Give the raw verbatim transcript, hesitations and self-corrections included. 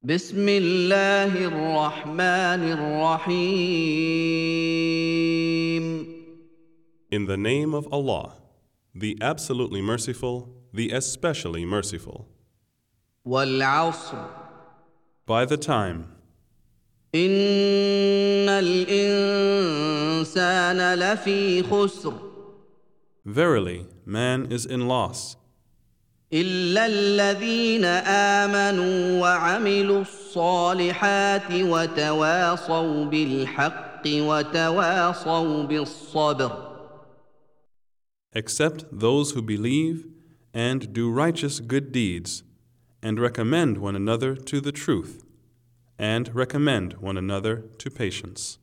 بسم الله الرحمن الرحيم In the name of Allah, the absolutely merciful, the especially merciful. والعصر By the time, إن الإنسان لفي خسر verily, man is in loss, إلا الذين آمنوا وعملوا الصالحات وتواصوا بالحق وتواصوا بالصبر except those who believe and do righteous good deeds, and recommend one another to the truth, and recommend one another to patience.